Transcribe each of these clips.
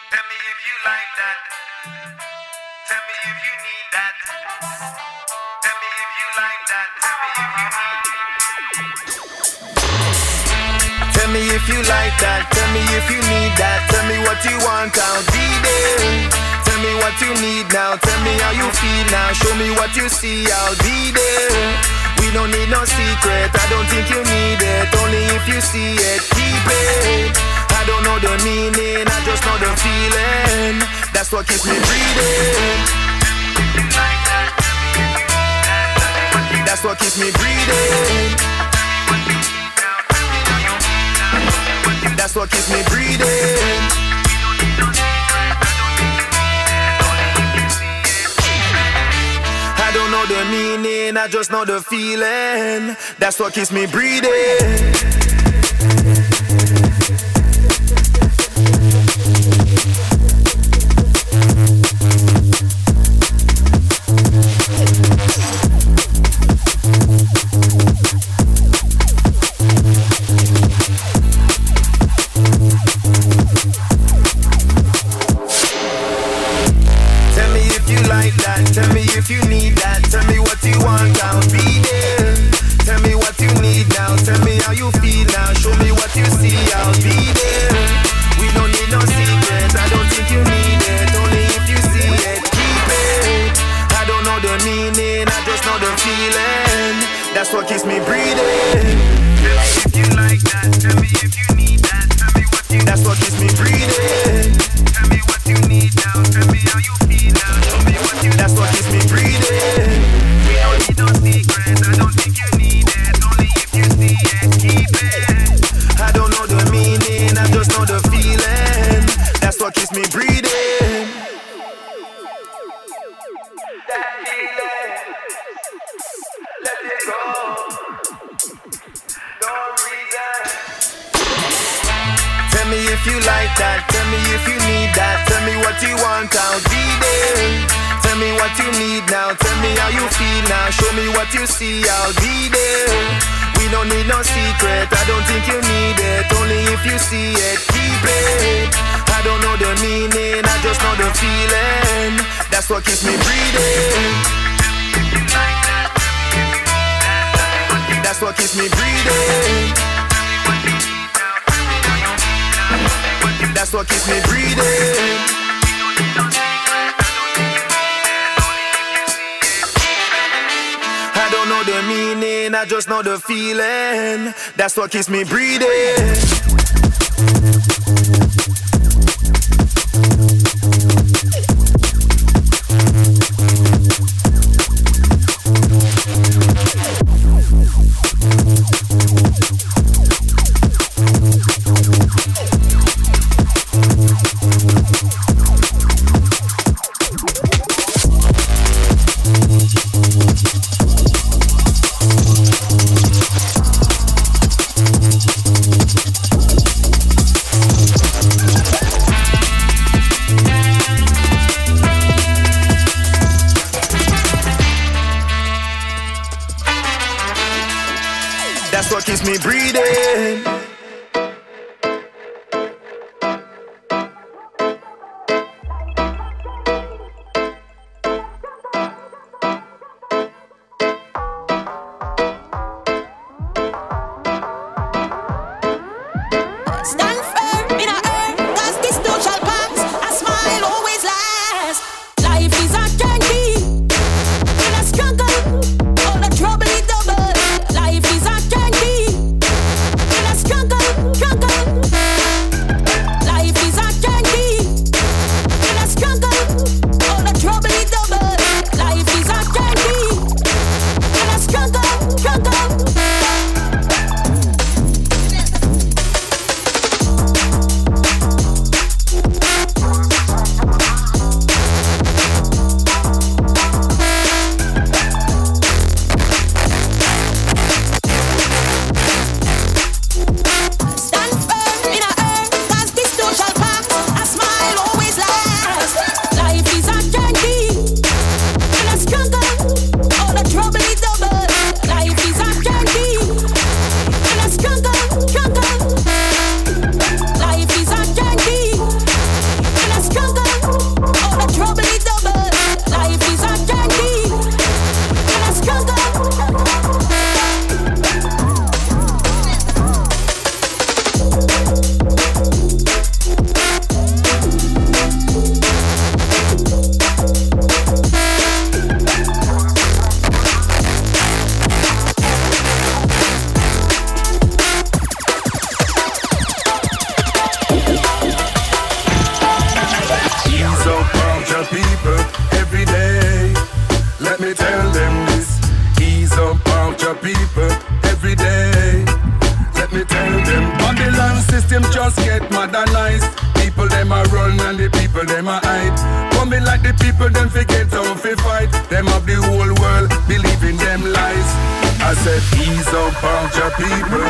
Tell me if you like that. Tell me if you need that. Tell me if you like that. Tell me if you need that. Tell me if you like that. Tell me if you need that. Tell me what you want, I'll be there. Tell me what you need now. Tell me how you feel now. Show me what you see, I'll be there. We don't need no secret, I don't think you need it. Only if you see it, keep it. I don't know the meaning, I just know the feeling. That's what keeps me breathing. That's what keeps me breathing. That's what keeps me breathing. I don't know the meaning, I just know the feeling. That's what keeps me breathing. Tell me if you like that, tell me if you need that. Tell me what you want, I'll be there. Tell me what you need now, tell me how you feel now. Show me what you see, I'll be there. We don't need no secret, I don't think you need it. Only if you see it, keep it. I don't know the meaning, I just know the feeling. That's what keeps me breathing. Tell me if you like that, tell me if you need that. Tell me what you. That's what keeps me breathing. Tell me what you need now, tell me how you feel now. Show me what you. That's what keeps me breathing. We don't need no secret, I don't think you need it. Only if you see it, keep it. I don't know the meaning, I just know the feeling. That's what keeps me breathing. That feeling, let it go. No reason. Tell me if you like that, tell me if you need that. Tell me what you want, I'll be there. Tell me what you need now, tell me how you feel now. Show me what you see, I'll be there. We don't need no secret, I don't think you need it. Only if you see it, keep it. I don't know the meaning, I just know the feeling. That's what keeps me breathing. That's what keeps me breathing. That's what keeps me breathing. I don't know the meaning, I just know the feeling. That's what keeps me breathing. people them a hide. Coming like the people them forget how to fight. Them of the whole world believing them lies. I said ease up about your people.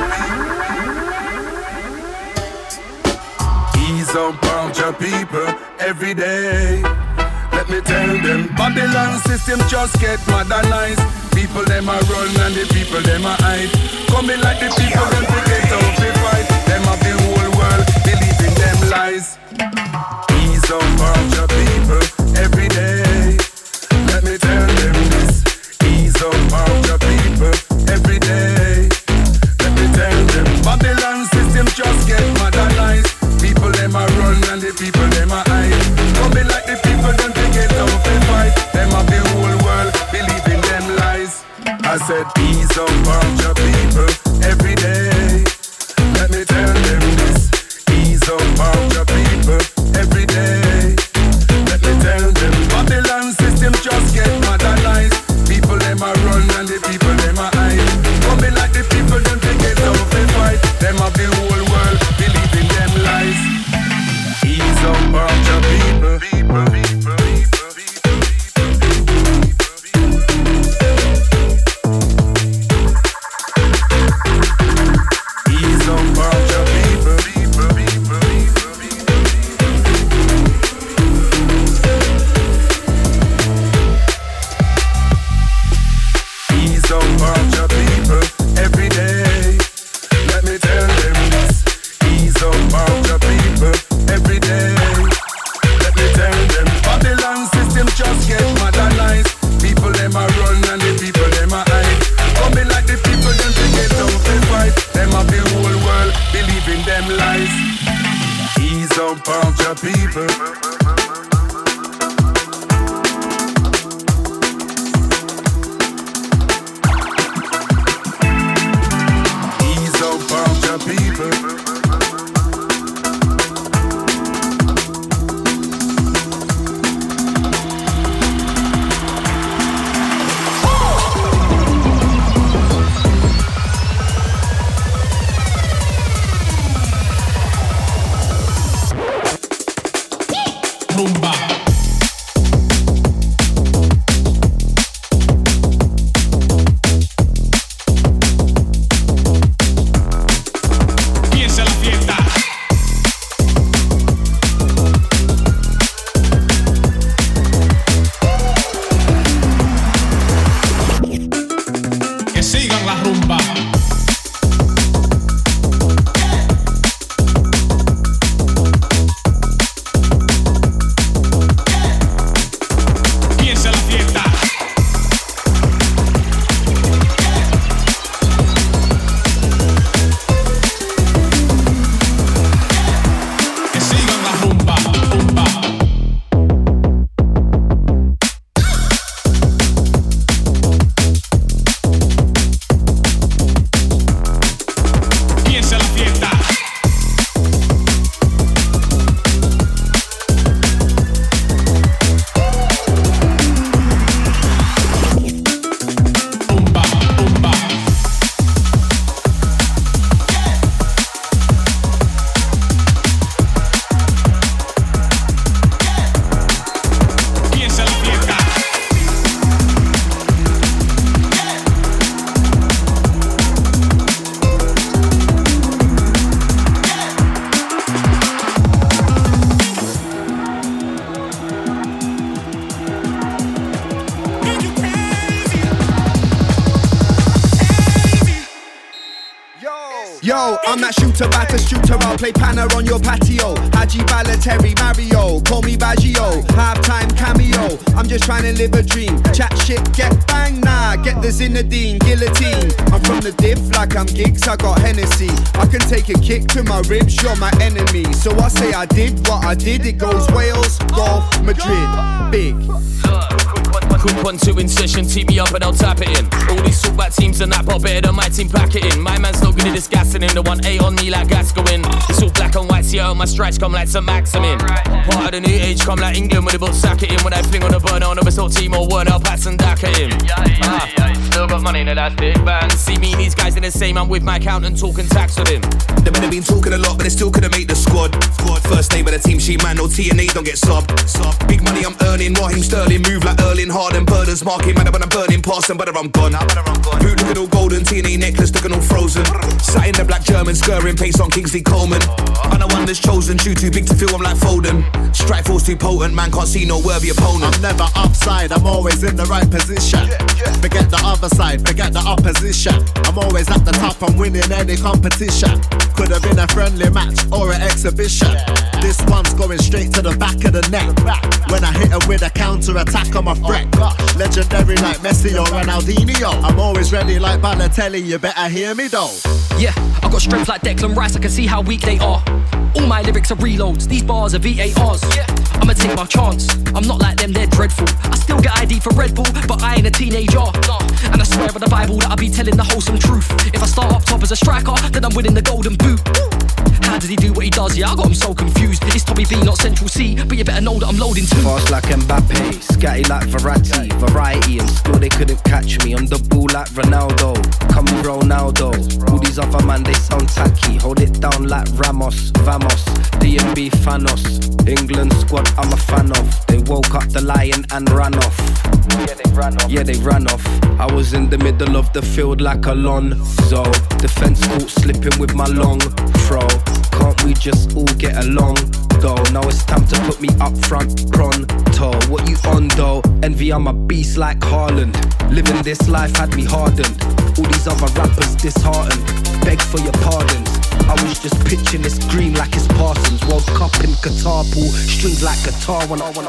Ease up about your people every day. Let me tell them, Babylon system just get modernized. People them a run and the people them a hide. Coming like the people them forget how to fight. Them of the whole world believing them lies. Ease up about your people every day. Let me tell them this. Ease up about your people every day. Let me tell them, Babylon system just get modernized. People them a run and the people them a hide. Coming like the people them forget how to fight. Them of the whole world believing them lies. I said ease up about your people every day. Let me tell them this. Ease up about your people every day. Let me tell them, Babylon system just get modernized. People them a run and the people them a hide. Coming like the people them forget how to fight. Them of the whole world believing them lies. Ease up about your people. Ease up about your people. Ease up about your people every day. Let me tell them this. Ease up about your people every day. Let me tell them, Babylon system just get modernized. People them a run and the people them a hide. Coming like the people them forget how to fight. Them of the whole world believing them lies. Ease up about your people. Ease up about your people. Rumba. Piensa la fiesta. Que sigan la rumba. Piensa la fiesta. Que sigan la rumba, rumba. Piensa la fiesta. Rumba, rumba. Piensa la fiesta. Yo, I'm that shooter, batter shooter. I'll play Panna on your patio. Haji Balotelli, Mario, call me Baggio. Halftime cameo. I'm just trying to live a dream. Chat shit, get bang, nah. Get the Zinedine, guillotine. I'm from the diff like I'm Giggs. I got Hennessy. I can take a kick to my ribs. You're my enemy. So I say I did what I did. It goes Wales, golf, Madrid, big. Quick 1-2 in session, tee me up and I'll tap it in. All these talkback teams and that pop better than my team pack it in. My man's not good at this gassing in. The 1-8 on me like gas going. It's all black and white, see how my stripes come like some Maximin. Part of the new age come like England with the book sack it in. When I fling on the burner on the whistle team or word, I'll pass and dack it in. still got money, now that's big bang. See me and these guys in the same, I'm with my accountant talking tax with him. They better been talking a lot, but they still couldn't make the squad. First name of the team sheet, man, no TNA, don't get sub. Big money I'm earning, Raheem Sterling, move like Erling Harden, burdens marking, man, when I'm burning past them, better I'm gone. Boot looking all golden, TNA necklace looking all frozen. Sat in the black German, scurrying pace on Kingsley Coleman. I'm the one that's chosen, shoe too big to feel I'm like Foden. Strike force too potent, man, can't see no worthy opponent. I'm never upside, I'm always in the right position. Forget the other side, forget the opposition. I'm always at the top, I'm winning any competition. Could have been a friendly match or an exhibition. This one's going straight to the back of the neck. When I hit her with a counter attack, I'm a threat. Legendary like Messi or Ronaldinho. I'm always ready like Balotelli, you better hear me though. Yeah, I got strength like Declan Rice, I can see how weak they are. All my lyrics are reloads, these bars are VARs. I'ma take my chance, I'm not like them, they're dreadful. I still get ID for Red Bull, but I ain't a teenager. And I swear on the Bible that I be telling the wholesome truth. If I start up top as a striker, then I'm winning the golden boot. How did he do what he does? Yeah, I got him so confused. It's Tommy B, not Central C, but you better know that I'm loading too. Fast like Mbappe, scatty like Verratti. Variety and still they couldn't catch me. On the ball like Ronaldo, come Ronaldo. All these other man, they sound tacky. Hold it down like Ramos, Vamos, DMB Thanos. England squad I'm a fan of. They woke up the lion and ran off. Yeah, they ran off. I was in the middle of the field like Alonso. Defense caught slipping with my long throw. Can't we just all get along though? Now it's time to put me up front pronto. What you on though? Envy, I'm a beast like Haaland. Living this life had me hardened. All these other rappers disheartened. Beg for your pardons. I was just pitching this green like it's Parsons. World Cup in Qatar, pull strings like guitar when I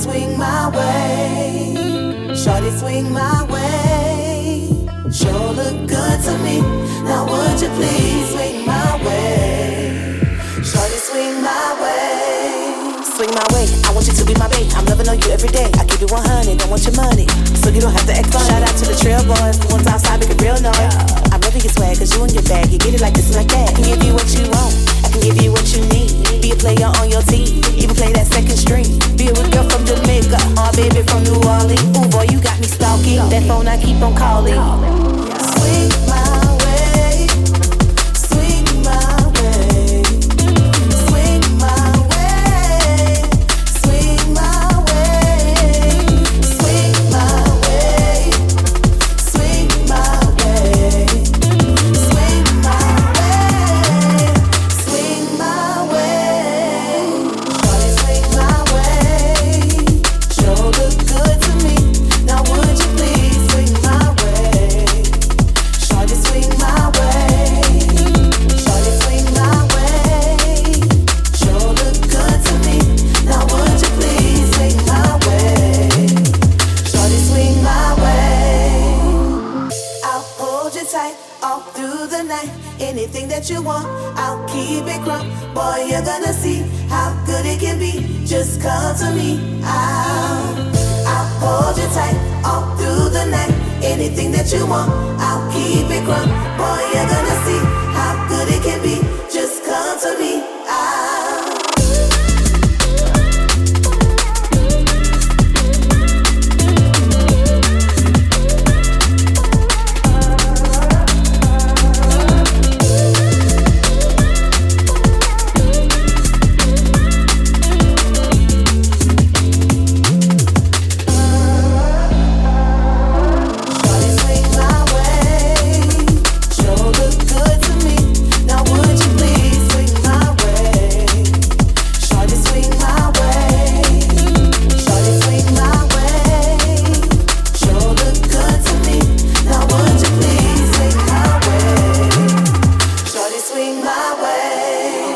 swing my way. Shorty, swing my way. Sure look good to me. Now would you please swing my way? Shorty, swing my way. Swing my way, I want you to be my babe. I'm loving on you every day. I keep it 100, don't want your money, so you don't have to act funny. Shout out to the trail boys, the ones outside making real noise. I'm loving your swag, cause you in your bag. You get it like this and like that. I can give you what you want, I can give you what you need. Be a player on your team, even play that second string. Be a girl from Jamaica, or baby from New Orleans. Ooh boy, you got me stalking, that phone I keep on calling. Swing my way, swing my way. Swing my way, swing my way. Swing my way, swing my way. Swing my way, swing my way. Shorty, swing my way. Sure look good to me. Now would you please swing my way? Shorty, swing my way. Shorty, swing my way. Sure look good to me. Now would you please swing my way? Shorty, swing my way. I'll hold you tight all through the night. Anything that you want, I'll keep it crumb. Boy, you're gonna see how good it can be. Just come to me. I'll hold you tight all through the night. Anything that you want, I'll keep it crumb. Boy, you're gonna see how good it can be. Just come to me. Shorty, swing my way. Sure look good to me. Now would you please swing my way? Shorty, swing my way. Shorty, swing my way. Sure look good to me. Now would you please swing my way? Shorty, swing my way.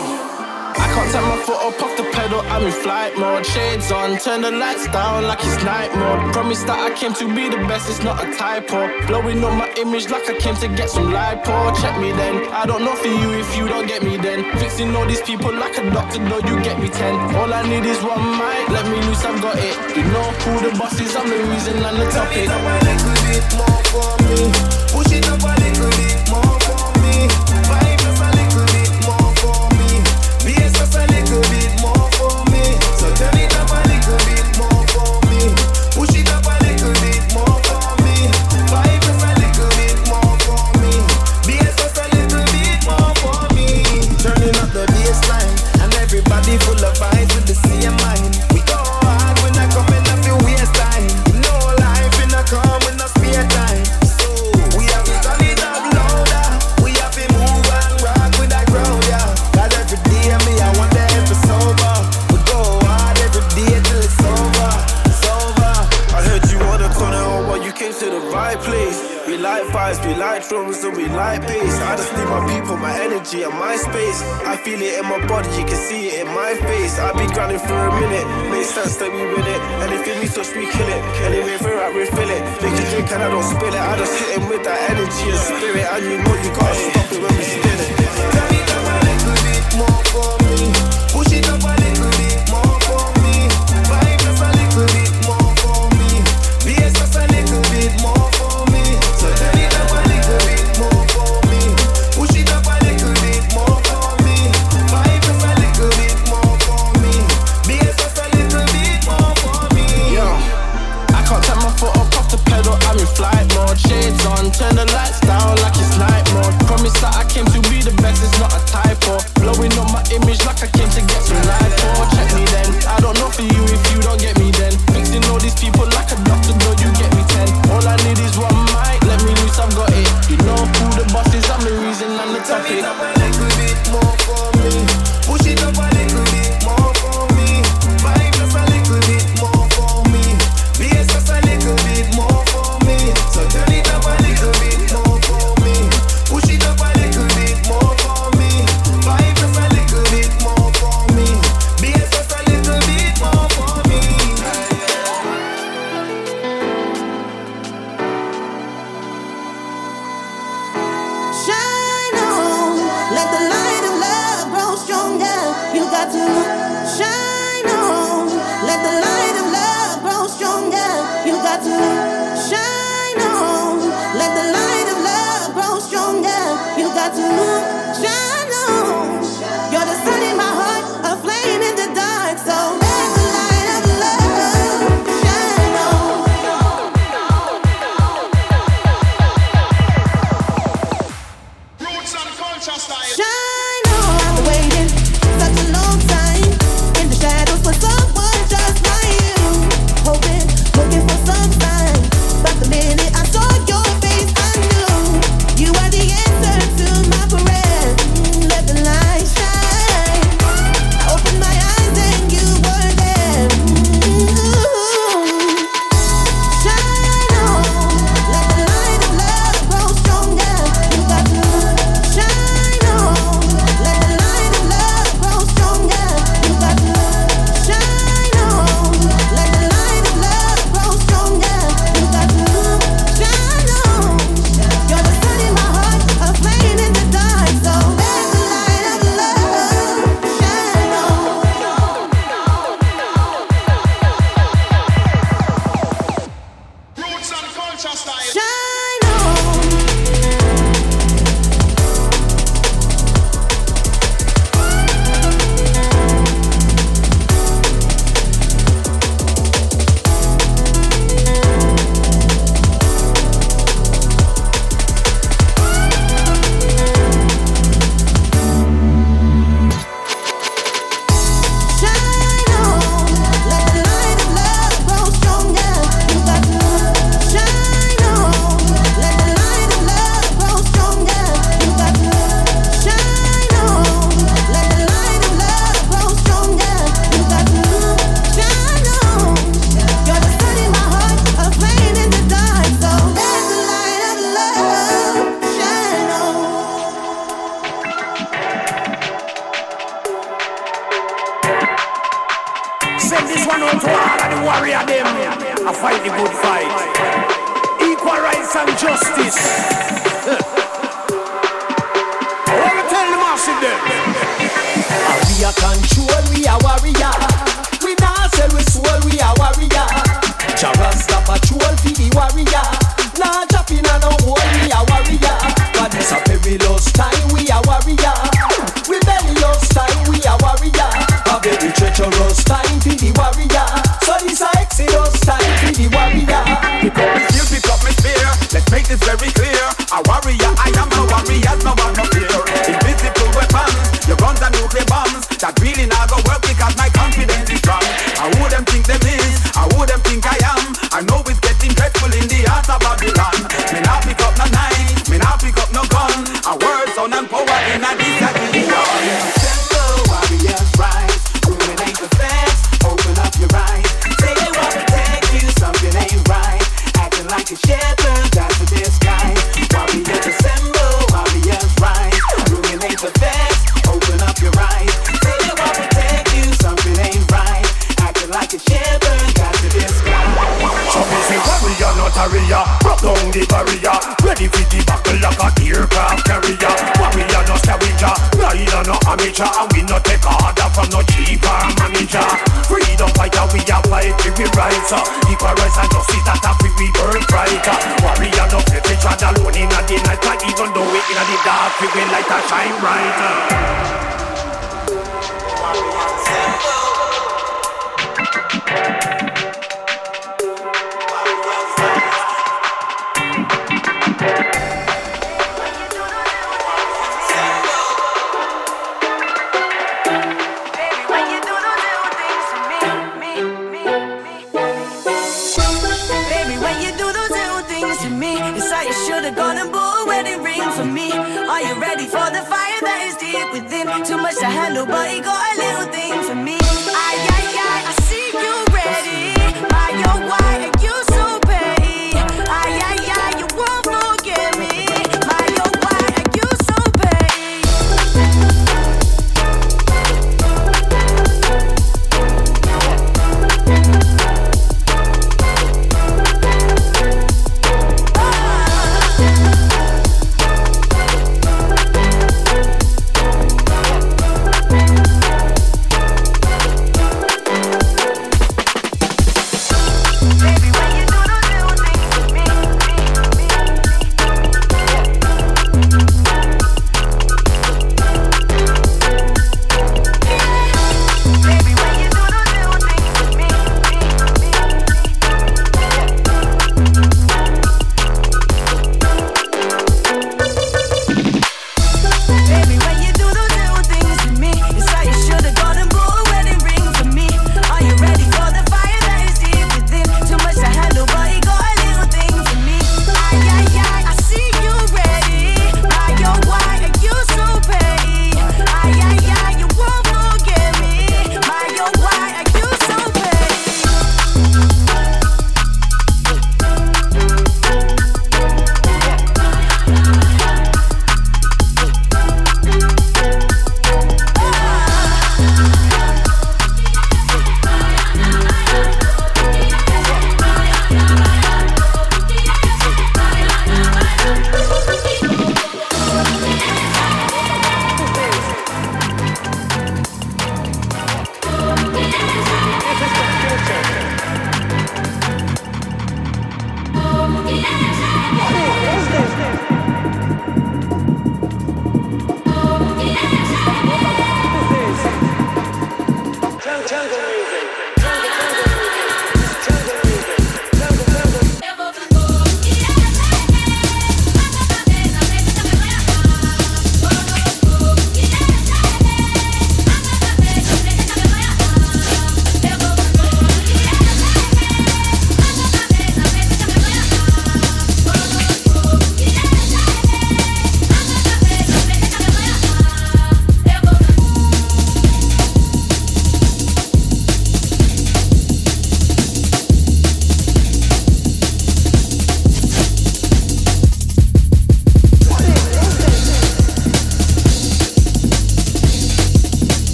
I can't take my foot up off the pedal, I'm in flight mode. Shades on, turn the lights down like it's night mode. Promise that I came to be the best, it's not a typo. Blowing up my image like I came to get some lipo. Check me then, I don't know for you if you don't get me then. Fixing all these people like a doctor, though you get me 10. All I need is one mic, let me loose, I've got it. You know who the boss is, I'm the reason and the topic. Turn it up a little bit more for me. Push it up a little bit more for me. Vibe just a little bit more for me. Bass just a little bit more for me. So turn it up a little bit more for me. Push it up a little bit more for me. Vibe just a little bit more for me. Bass just a little bit more for me. Turning up the bassline and everybody full of vibes with the same mind. We go hard when I come in up your waist time. You know life in a come with no spare time. So we have to turn it up louder. We have to move and rock with that crowd, yeah. Cause every day me I want the episode sober. We go hard every day till it's over. It's over. I heard you on the corner, oh boy, you came to the right place. We like vibes, we like drums, and we like bass. I just need my people, my energy, and my space. I feel it in my body, you can see it in my face. I've been grinding for a minute, makes sense that we win it. Anything we touch, we kill it. Anyway, we're out, refill it. Make a drink and I don't spill it. I just hit him with that energy and spirit. And you know you gotta stop it when we spin it. Turn it up a little bit more for me. Push it up a little bit more for me. Vibe just a little bit more for me. Bass just a little bit more for me. So turn it up a little bit more for me. Push it up a little bit more for me. Vibe just a little bit more for me. Bass just a little bit more for me. Yo, I can't take my foot up off the pedal, I'm in flight mode. Shades on, turn the lights down like it's night mode. Promise that I came to got to shine on. Let the light of love grow stronger. You got to shine on. Let the light of love grow stronger. You got to shine on. You're the sun in my heart, a flame in the dark. So let the light of love shine on. Roots and culture style. Shine on. I've been waiting such a long time in the shadows for someone just like you. Hoping, looking for some sign. But the minute I saw your face, I knew you are the answer to my prayer. Let the light shine. I opened my eyes and you were there. Shine on. Let the light of love grow stronger. You got to shine on. Let the light of love grow stronger. You got to shine on. Let the light of love grow stronger. You got to shine on. You're the sun in my heart, a flame in the dark. So let the light of love shine on. Roots and culture style. Shine on. Shine on. Let the light of love grow stronger. You got to shine on. Let the light of love grow stronger. You got to shine on. Let the light of love grow stronger. You got to shine on. You're the sun in my heart, a flame in the dark. So let the light of love shine on. Send this one out to all of the warrior them. I fight the good fight. Equal rights and justice. I want to tell the massive them. We are control, we are warrior. We not sell we soul, we are warrior. Jarasta patrol for the warrior. Nah dropping on no hole, we are warrior. But it's a perilous time, we are warrior. Rebellious time, we are warrior. A very treacherous time for the warrior. So this a exodus time for the warrior. Pick up my shield, pick up my spear. Let's make this very clear. A warrior, I am a warrior, no one no fear. Invisible weapons, your guns and nuclear bombs. That really not go work because my confidence is strong. I wouldn't think them is, I wouldn't think I am. I know it's getting dreadful in the heart of Babylon. Me not pick up no knife, me not pick up no gun. A word, sound and power in a disagreement. Assemble, warriors rise. Ruminate the facts, open up your eyes. Say they want to protect you, something ain't right. Acting like a shepherd, that's a disguise. Warriors assemble, warriors rise. Ruminate the facts, open up your eyes. Say they want to protect you, something ain't right. Acting like a shepherd, that's a disguise. So me say warrior, not a warrior. Broke down the barrier. Ready for the battle like a aircraft carrier. Warrior, no scavenger. Rider, no amateur. And we no take order from no chief or manager. Freedom fighter, we are fight to be right. Equal rights and justice, that a free birthright. Warrior, no flip each other alone in the night. But even though we in the dark, we will light a shine bright. Baby, when you do those little things to me, it's like you should've gone and bought a wedding ring for me. Are you ready for the fire that is deep within? Too much to handle, but you got a little thing for me. Ay, ay, ay, I see you ready. My, oh, why are you so petty? Ay, ay, ay, you won't forget me. My, oh, why are you so petty?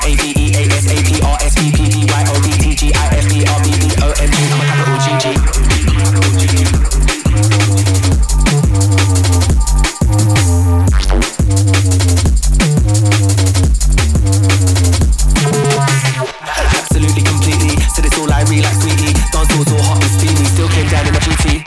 R-A-V-E-A-S-A-P-R-S-V-P-Y-O-D-T-G-I-F-B-R-B-B-O-M-G. I'm a capital GG. Absolutely, completely. Said it's all I really like, sweetie. Dance floor so hot and steamy. Still came down in a booty.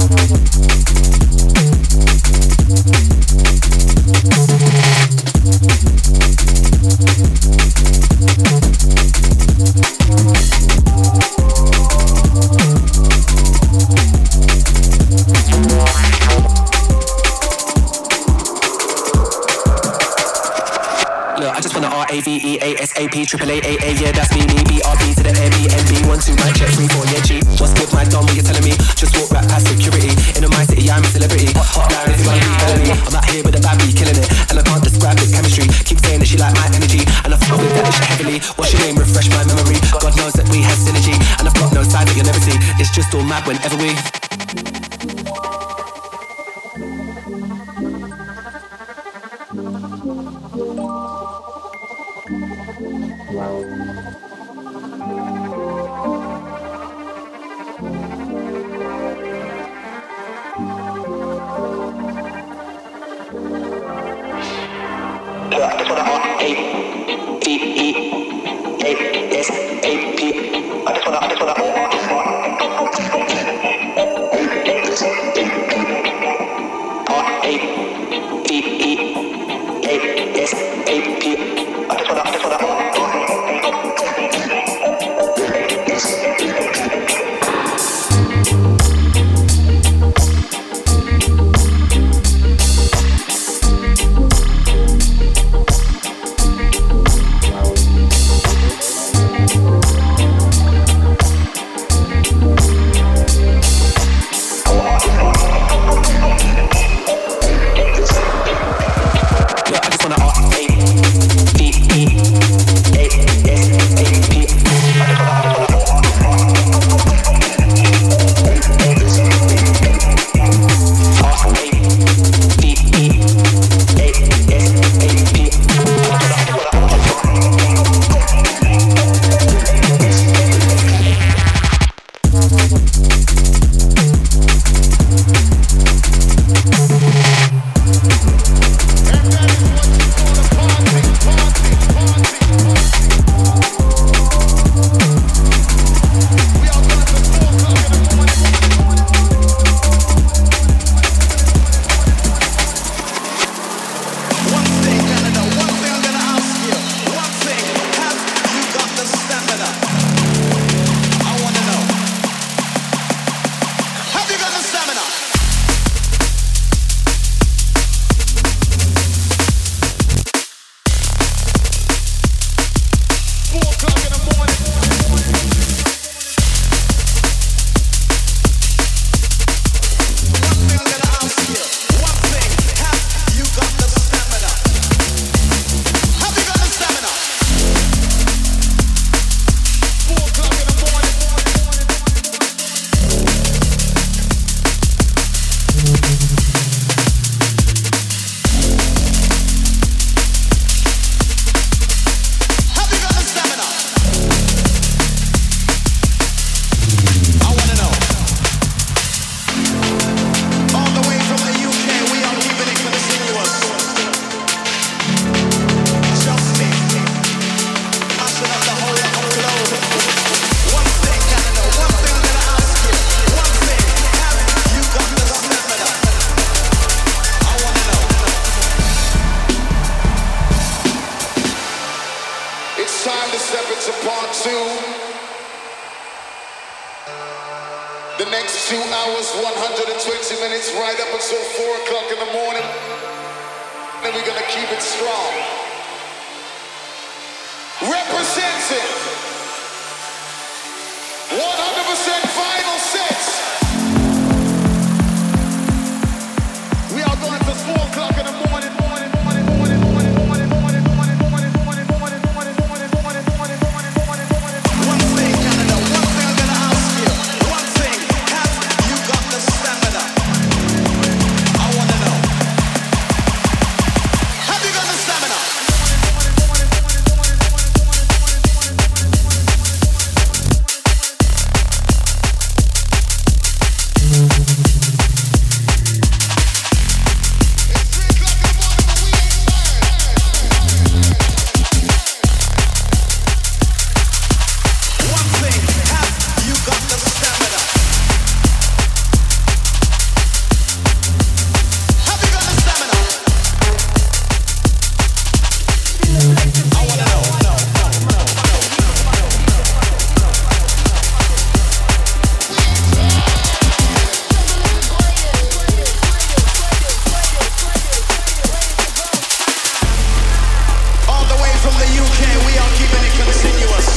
I just wanna R-A-V-E-A-S-A-P, triple A-A-A, yeah, that's me, B-R-B to the M-E-N-B, 1, 2, my check, 3, 4, yeah, G. What's good, my dom, what you telling me? Just walk right past security. In my city, I'm a celebrity. Hot down, it's gonna be felony. I'm out here with a bad bee, killing it, and I can't describe the chemistry. Keep saying that she like my energy, and I fuck with that shit heavily. What's your name? Refresh my memory. God knows that we have synergy, and I've got no side that you'll never see. It's just all mad whenever we... care, we are keeping it continuous.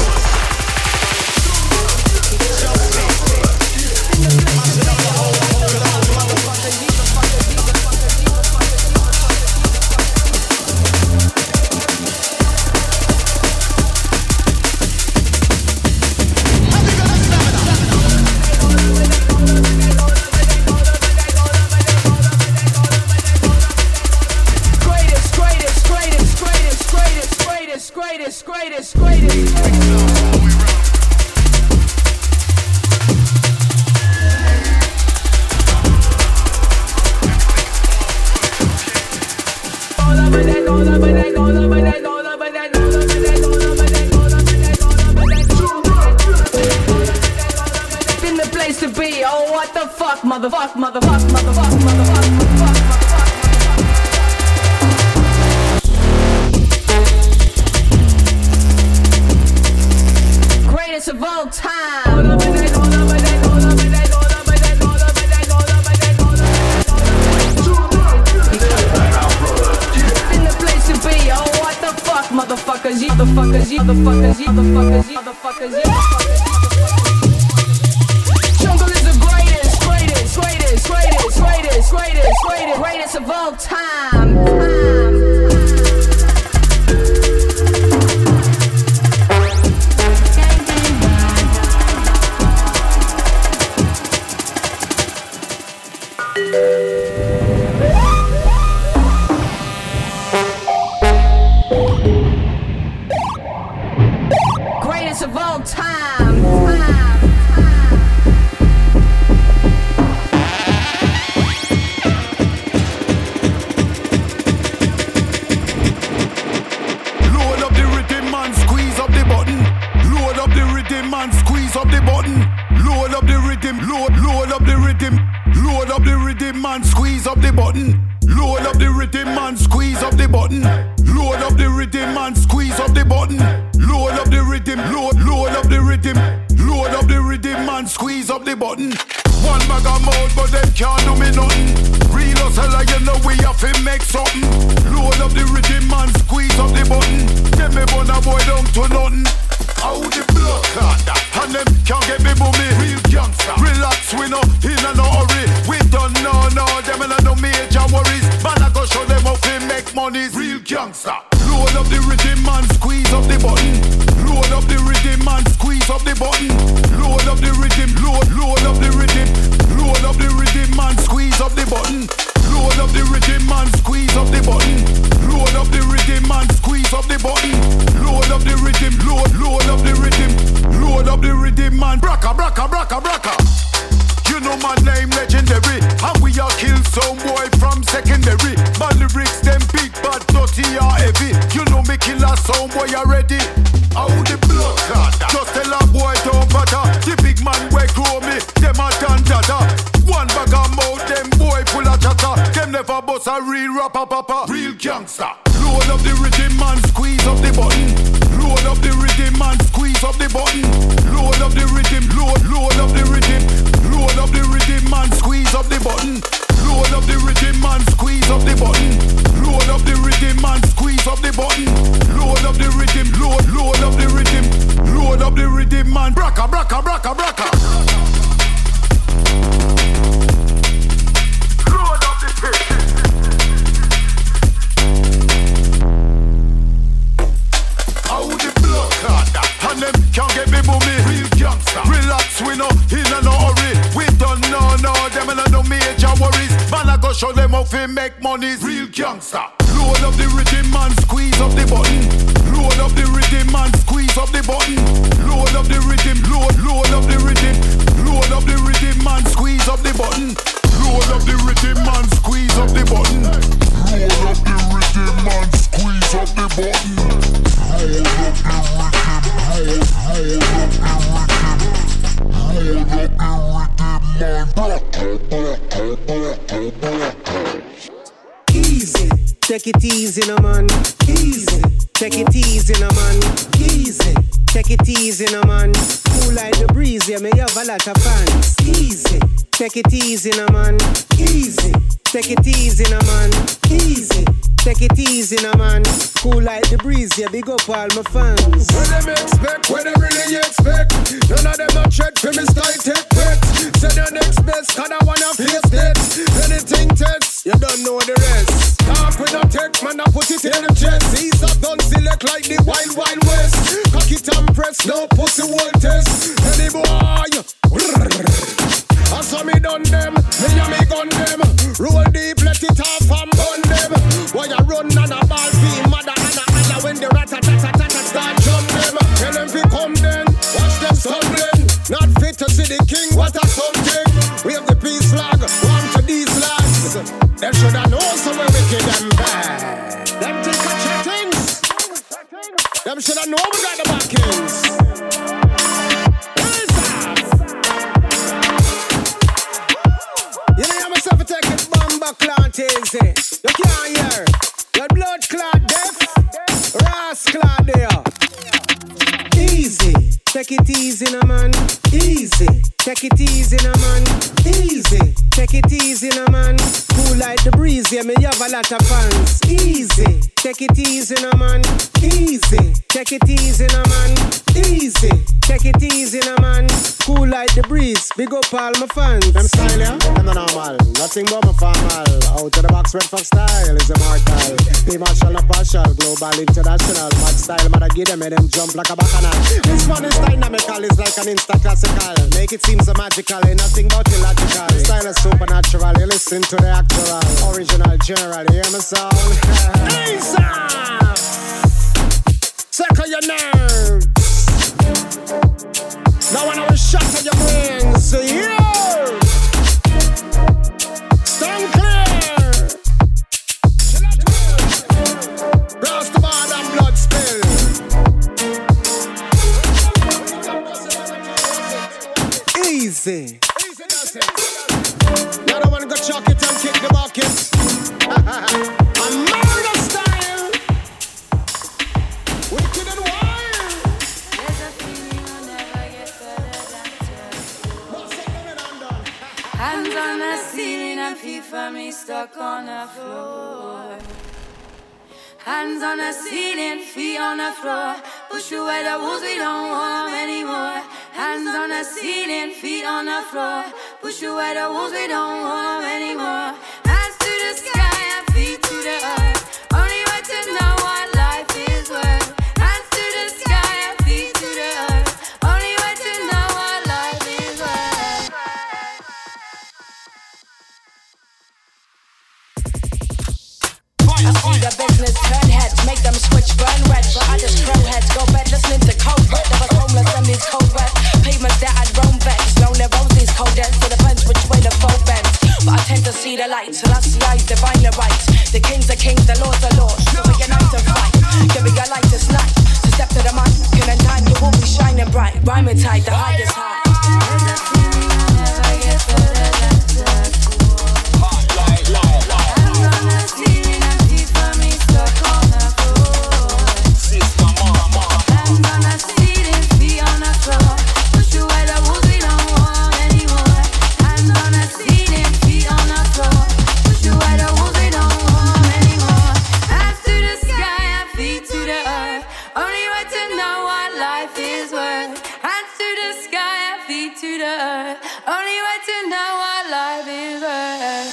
Show them how to make money, real gangster. Load up the rhythm and squeeze up the button. Load up the rhythm and squeeze up the button. Load up the rhythm, load up the rhythm. Load up the rhythm and squeeze up the button. Load up the rhythm and squeeze up the button. Load up the rhythm and squeeze up the button. Load up the rhythm, hold up the rhythm. Easy, take it easy, no man. Easy, take it easy, no man. Easy, take it easy, no man. Cool like the breeze, yeah, me have a lot of fans. Easy, take it easy, no man. Easy, take it easy, no man. Easy, Take it easy, no man. Cool like the breeze, yeah, big up all my fans. What them expect, what they really expect. None of them not tread for me style take bet. Say the next best, cause I wanna face that. Anything test, you don't know the rest. Talk with no tech, man, I put it in the chest. These up done select like the wild, wild west. Cock it and press, no pussy won't test. Any boy, I saw me done them, me and me gun them. Roll deep, let it off and burn them. Why you run on a ball field, mother and when the rat-a-tat-a-tat-a start jump them. Tell them fi come then, watch them stumbling. Not fit to see the king, what a something. We have the peace flag, warm to these lads. Them shoulda know some we wicked them bad. Them think of chattings. Them shoulda know we got the backings. You know you myself take it bomba clot easy. You can't hear. Your blood clot deaf. Ras clot there. Easy. Take it easy, no man. Easy. Take it easy, no man. Easy. Take it easy, no man. Cool like the breeze, yeah, me have a lot of fans. Easy. Take it easy, no man. Easy. Take it easy, no man. Easy. Take it easy, no man. Cool like the breeze, big up all my fans. Them style, yeah? Them no normal. Nothing but my formal. Out of the box, Red Fox style is immortal. P-Marshall, no partial. Global, international. Mad style, man, I give them, make them jump like a bacchanal. This one is dynamical, it's like an instant classical. Make it seem so magical, ain't nothing but illogical. Style is supernatural, you listen to the actual. Original, general, you hear my sound? Ease up! Circle your nerves. Now when I was shot at your brains, yeah! Stand clear! Cross the bar and blood spill. Easy. Easy does it. Now I wanna go chuck it and kick the bucket. A murder style. Wicked and wild. There's a feeling I'll never get better than to. Hands on the ceiling and feet for me stuck on the floor. Hands on the ceiling, feet on the floor. Push away the walls, we don't want them anymore. Hands on the ceiling, feet on the floor. Push away the walls, we don't want them anymore. Hands to the sky and feet to the earth. Only way to know what life is worth. Hands to the sky and feet to the earth. Only way to know what life is worth. I see the business turn heads, make them switch burn red. But I just crow heads, go bed listening to cold red. There was homeless and these cold red pavements that I'd roam vets. Lonely roses, cold ends, so depends which way the foe bends. But I tend to see the light, till I see eyes divine the right. The kings are kings, the lords are lords. So we unite and fight. Give me a light this night. So step to the mic, in time you will be shining bright. Rhyming tight, the highest high. There's a feeling I'll never get better than to. Hands on the ceiling and feet for me stuck on the floor. Hands on the ceiling, feet on the floor. Push away the walls, we don't want anymore. Hands on the ceiling, feet on the floor. Push away the walls, we don't want anymore. Hands to the sky and feet to the earth. Only way to know what life is worth. Hands to the sky and feet to the earth. Only way to know what life is worth.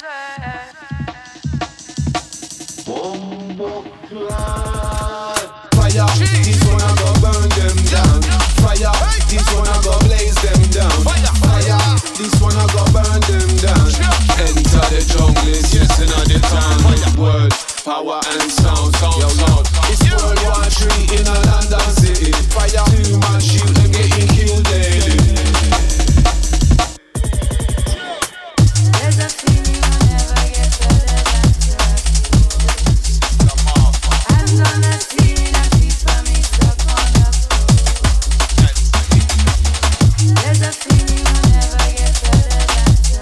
Fire, this one I go burn them down. Fire, this one I go blaze them down. Fire, this one I go burn them down. Enter the jungle, yes, in the town. Word, power and sound. It's World War III in a London city. Fire, too much shoot and getting killed daily. There's a feeling I'll never get better than to. Hands on the ceiling and feet for me stuck on the floor. There's a feeling I'll never get better than to.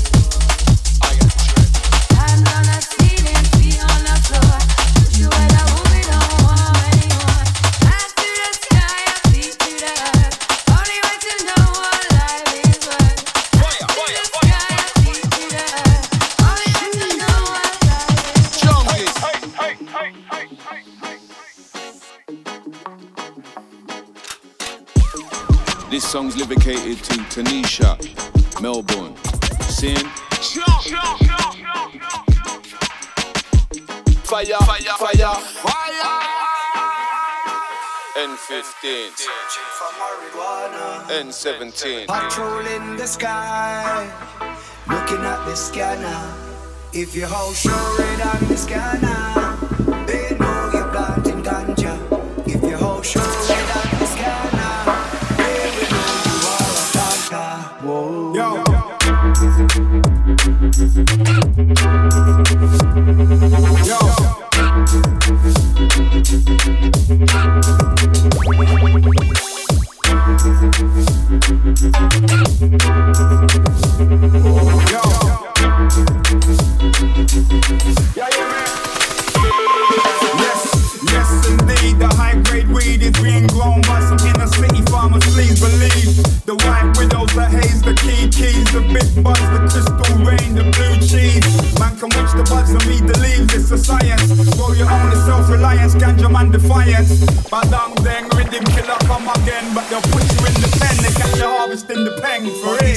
Hands on the ceiling, feet on the floor. Push away the walls, we don't want anymore. Hands to the sky and feet to the earth. Only way to know what life is worth. Hands to the sky and feet to the earth. Only way to know what life is worth. This song's lyricated to Tanisha, Melbourne. Sin. Fire, fire, fire, fire. N15. N17. Patrolling the sky, looking at the scanner. If your house show red on the scanner, they know you're planting ganja. If your house show red on the scanner, they will know you are a planter. Whoa. Yo. Yo. Yes, indeed, the high-grade weed is being grown by some inner-city farmers, please believe. The white widows, the haze, the keys, the big buds, the crystal rain, the blue cheese. Man can watch the buds and read the leaves, it's a science. Grow your own self-reliance, ganja man defiance. Badang deng, rhythm killer come again, but they'll put you in the pen, they catch you harvesting the pen for it.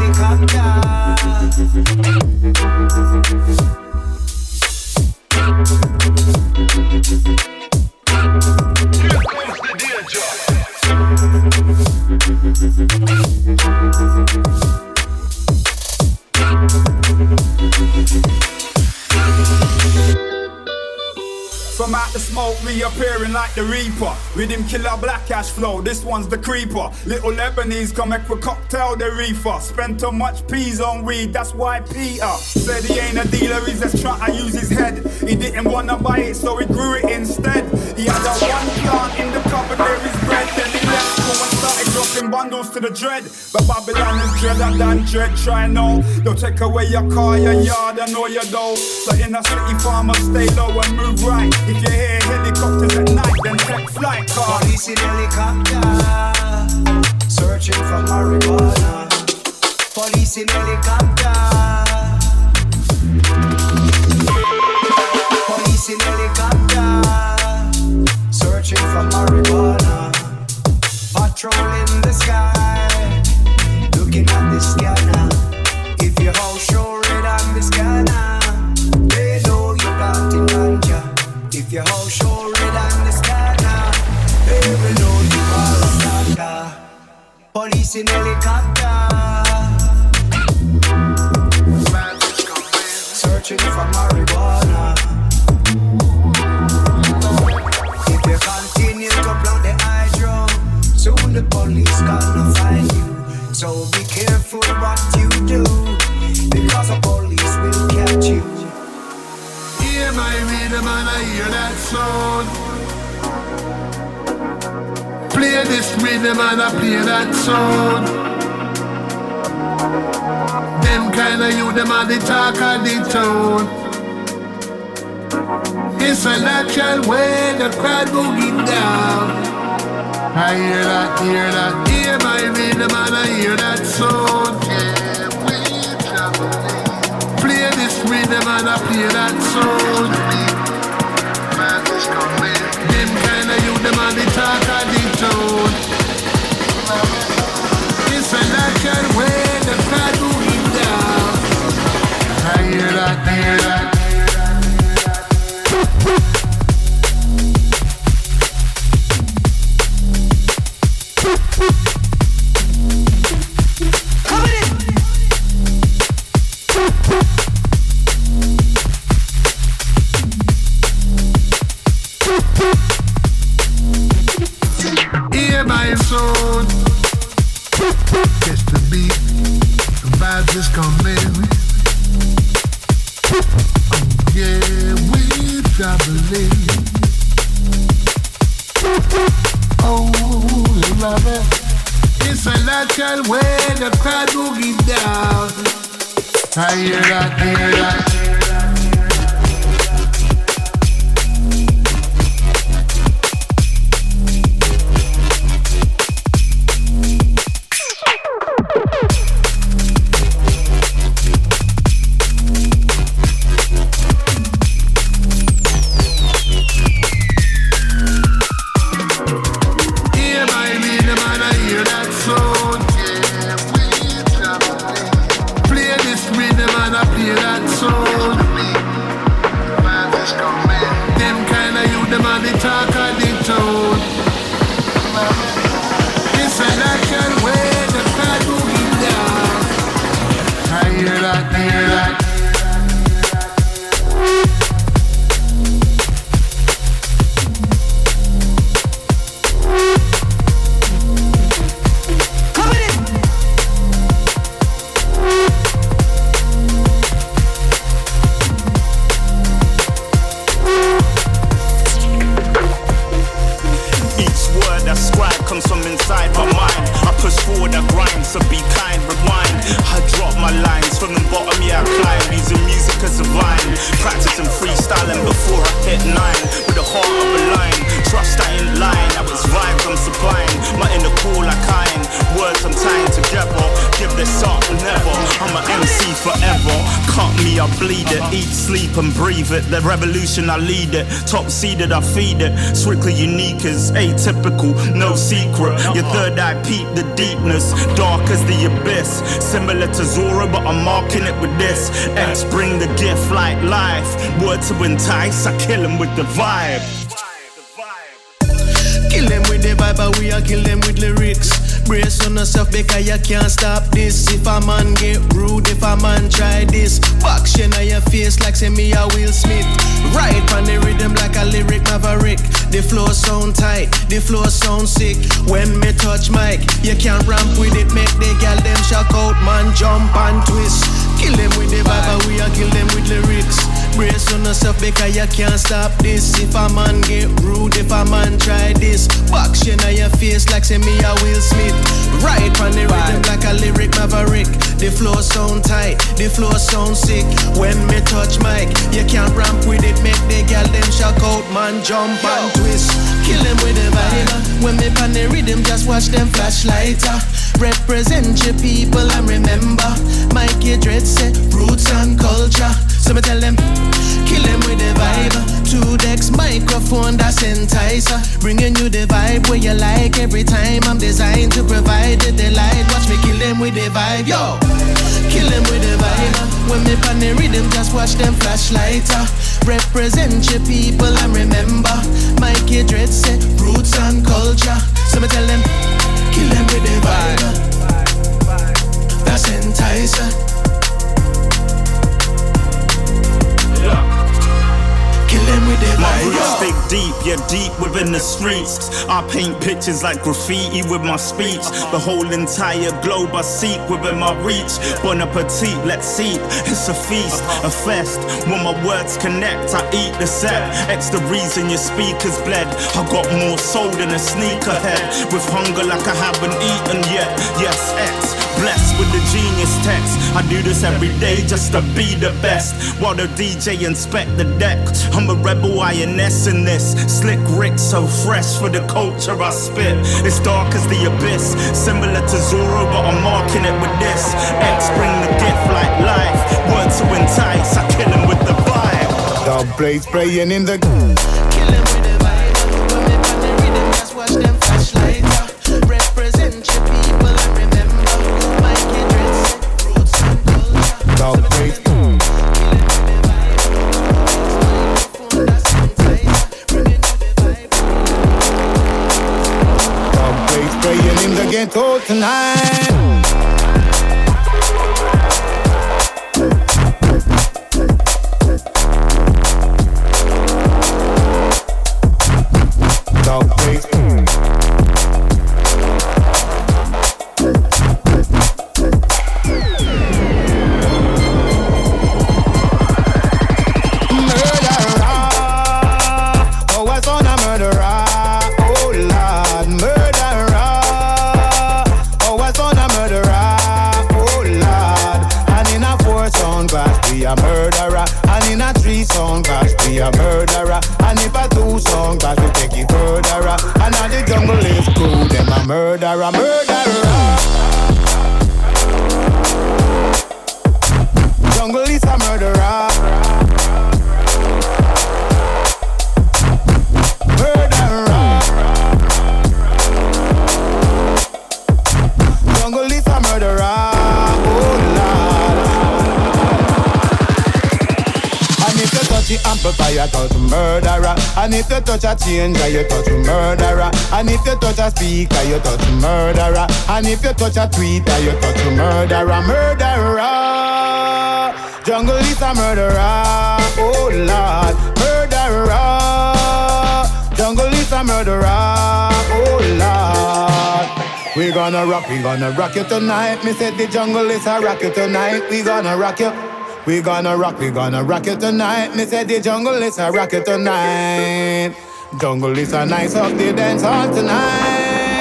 From out the smoke reappearing like the reaper. Rhythm killer black ash flow, this one's the creeper. Little Lebanese come make a cocktail the reefer. Spent too much peas on weed, that's why Peter said he ain't a dealer, he's just trying to use his head. He didn't wanna buy it, so he grew it instead. He had a one plant in the cupboard, there is bread. Then he left school and started dropping bundles to the dread. But Babylon is dreader than dread, try no. They'll take away your car, your yard, and all your dough. So in a city farmers stay low and move right. If you hear helicopters at night, then take flight cars. Police in helicopter, searching for marijuana. Police in helicopter. Police in helicopter, searching for marijuana. Patrolling the sky, looking at the scanner. If your house show red on the scanner, they know you're planting ganja. If your house show red on the scanner, they will know you are a planter. Police in helicopter, searching for marijuana. If you continue to plant the hydro, soon the police gonna find you. So be careful what you do, because the police will catch you. Hear my rhythm and I hear that sound. Play this rhythm and I play that sound. Them kind of you, them are the talk of the town. It's a natural way the crowd boogie down. I hear that, hear my rhythm and I hear that sound. Yeah, we travel. Play this rhythm and I play that sound. Man is coming. Them kind of you, them are the talk of the town. It's a natural way the crowd moving down. I hear that, hear that. Hear my soul. Catch the beat, the vibes is coming. Oh yeah, we traveling. Oh, love it. It's a natural way the crowd boogie down. I hear that, hear that. Hear my rhythm and I hear that soul. pride comes from inside my mind. I push forward, I grind, so be kind, rewind. I drop my lines from the bottom, yeah I climb. Using music as a vine, practicing freestyling before I hit 9. With the heart of a lion, trust I ain't lying. Now it's vibes I'm supplying, my inner cool like iron. Words I'm tying together, give this up never. I'm an MC forever, cut me I bleed it. Eat, sleep and breathe it. The revolution I lead it, top seeded I feed it. Strictly unique is atypical, no secret. Your third eye peep the deepness, dark as the abyss. Similar to Zora but I'm marking it with this. X bring the gift like life. Word to entice, I kill him with the vibe. Kill them with the vibe, but we are kill them with lyrics. Brace on yourself because you can't stop this. If a man get rude, if a man try this, action on your face like say me a Will Smith. Ride on the rhythm like a lyric maverick. The flow sound tight, the flow sound sick. When me touch mic, you can't ramp with it. Make the gal them shock out, man jump and twist. Kill them with the vibe, but we a kill them with lyrics. Brace on yourself because you can't stop this. If a man get rude, if a man try this, action on your face like say me a Will Smith. Ride on the rhythm like a lyric maverick. The flow sound tight, the flow sound sick. When me touch mic, you can't ramp with it. Make the gal them shock out, man jump and twist. Kill them with the vibe. When me pan the rhythm, just watch them flashlighter. Represent your people and remember Mikey Dread say roots and culture. So me tell them, kill them with the vibe. 2 decks, microphone, that's enticer. Bringing you the vibe where you like every time. I'm designed to provide the delight. Watch me kill them with the vibe, yo. Kill them with the vibe. When me pan the rhythm, just watch them flashlighter. Represent your people and remember Mikey Dread say roots and culture. So me tell them, kill them with the vibe. That's enticer. Kill them with the my vibe. roots dig deep, yeah deep within the streets. I paint pictures like graffiti with my speech. The whole entire globe I seek within my reach. Bon appetit, let's seek. It's a feast, a fest. When my words connect, I eat the set. X the reason your speakers bled. I got more soul than a sneakerhead. With hunger like I haven't eaten yet. Yes, X. Blessed with the genius text. I do this every day just to be the best. While the DJ inspect the deck. I'm a rebel INS in this. Slick Rick so fresh for the culture I spit. It's dark as the abyss. Similar to Zoro but I'm marking it with this. X bring the gift like life. Word to entice, I kill him with the vibe. Dub plates playing in the Kill them with the vibe. When they pan the rhythm, just watch them flashlighter. Represent your people and remember Mikey Dread say roots and culture. dub plates. Dub plates playing in the ghetto tonight. Dub plates. A murderer, and if I do song, but we take it further. And now the jungle is cool, them a murderer, murderer. Jungle is a murderer. Murderer. Jungle is a murderer. The amplifier touch murderer. And if you touch a changer, you touch murderer. And if you touch a speaker, you touch murderer. And if you touch a tweeter, you touch murderer. Murderer. Jungle is a murderer. Oh Lord. Murderer. Jungle is a murderer. Oh Lord. We gonna rock you tonight. Me said the jungle is a rock you tonight. We gonna rock you. We gonna rock you tonight. Me say the jungle is a rock you tonight. Jungle is a nice up the dance hall tonight.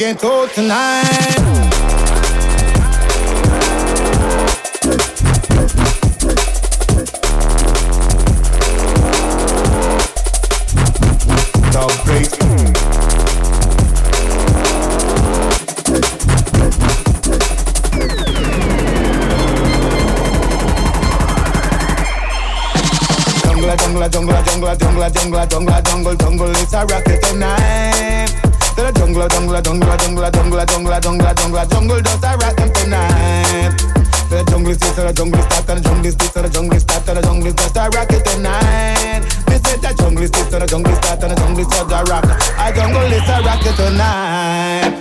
get out tonight. Jungle, it's a rocket tonight. The jungle, just a rock them tonight. The jungle is the jungle start, the jungle is the jungle start, the jungle just a rocket tonight. They said the jungle is the jungle start, the jungle is just a rock. A jungle is a rocket tonight.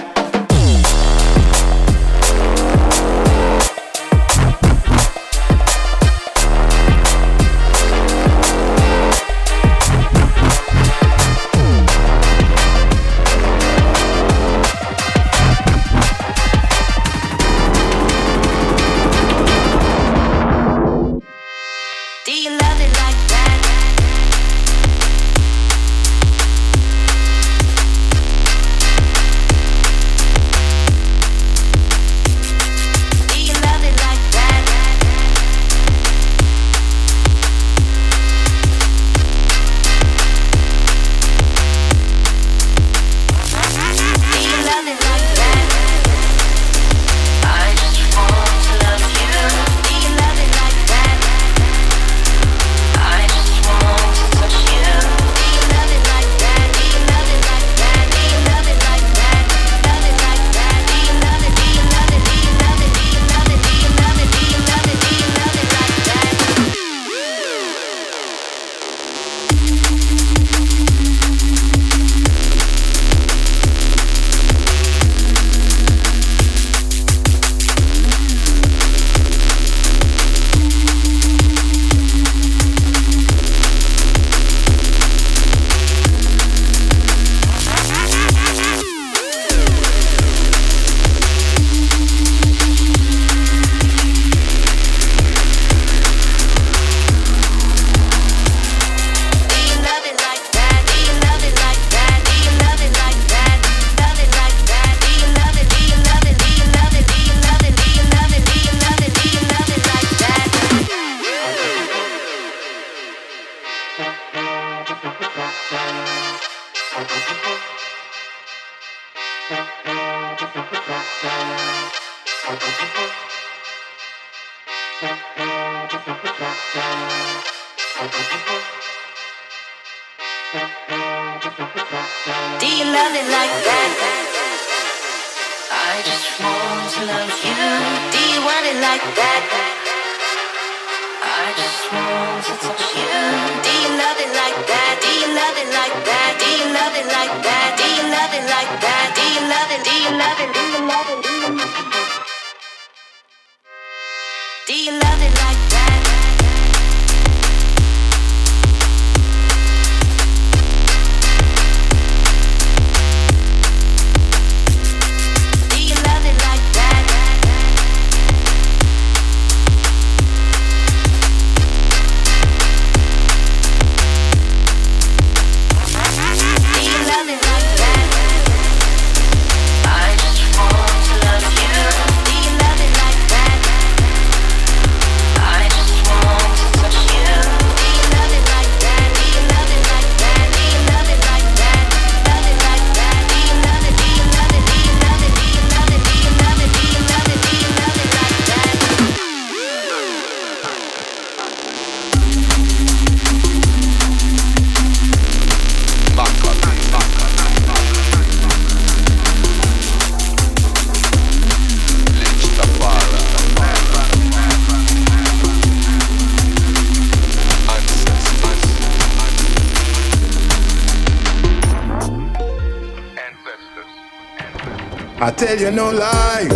I tell you no lie.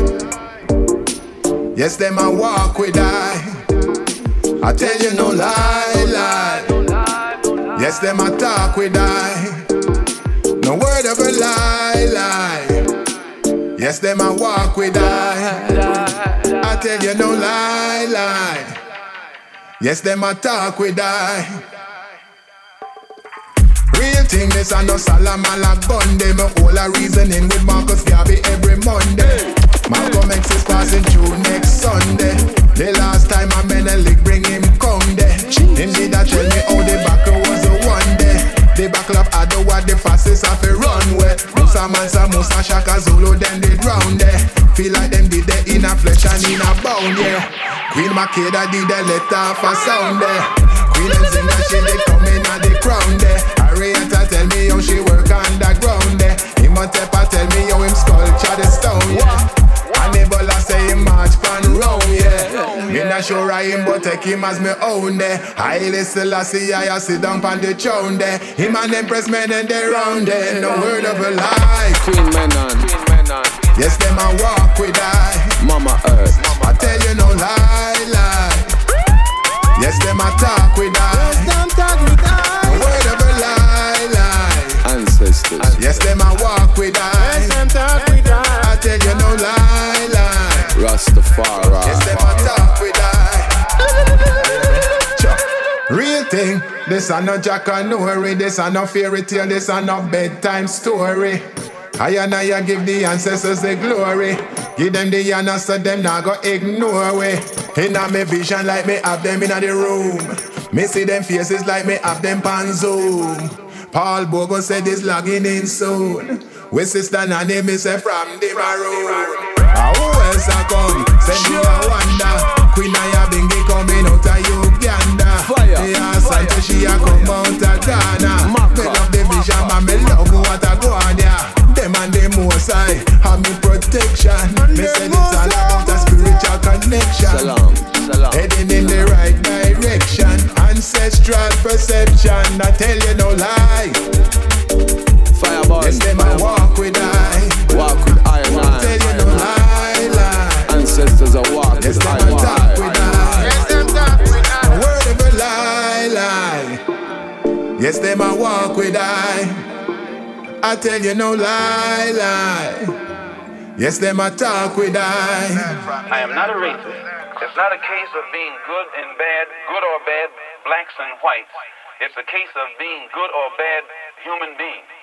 Yes, them a walk with I tell you no lie, lie. Yes, them a talk with no word of a lie, lie. Yes, them a walk with I tell you no lie, lie. Yes, them a talk with Real thing, this a no Salamala gun. They my whole a reasoning with Marcus Garvey every Monday. Malcolm X is passing through next Sunday. The last time I Menelik bring him come there. Him did a tell me how the battle was a one day. The battle of Adowa, the fastest of a runway. Musa Mansa, Musa Shaka Zulu, then they drown there. Feel like them did they in a flesh and in a bone, yeah. Queen Makeda did they let off a sound there. Queen and Zinga, she they come in at the crown there. Arietta tell me how she work underground there. Imhotep tell me how him sculpture the stone, yeah. And Ebola say him march pan round, yeah. Me not sure I him, but take him as me own there. Haile Selassie, I sit down pan the throne there. Him and Empress men and they round there. No word of a lie. Queen Menon. Yes, them a walk with I. Mama Earth. I tell you no lie, lie. Yes, them a talk with I. Yes, them talk with I. No word of a lie, lie. Ancestors. Yes, them a walk with I. Yes, them talk with I. I tell you no lie, lie. Rastafari. Yes, them a talk with I. Real thing, this a no Jack and Nori, this a no fairy tale, this a no bedtime story. I and I give the ancestors the glory. Give them the honor so them not go ignore we. In a me vision like me have them in the room. Me see them faces like me have them pan Zoom. Paul Bogo said he's logging in soon. We sister Nanny me say from the maroon. Who else a come? Send me a wonder. Queen Aya Bingi coming out of Uganda. The Asante she a come out of Ghana. Me love the vision man, me love what a go on ya. Them and them most high have me protection. Me said it's all about a spiritual connection. Salam. Heading in the right direction. Ancestral perception. I tell you no lie. Fireball. Yes, them a walk with I. Walk with I and I. Tell you no lie, lie. Ancestors are walk yes, with I. Yes, them a talk with I. Yes, them talk with I. A word of a lie, lie. Yes, them a walk with I. I tell you no lie, lie. Yes, them a talk with I am not a racist. It's not a case of being good and bad, good or bad, blacks and whites. It's a case of being good or bad human beings.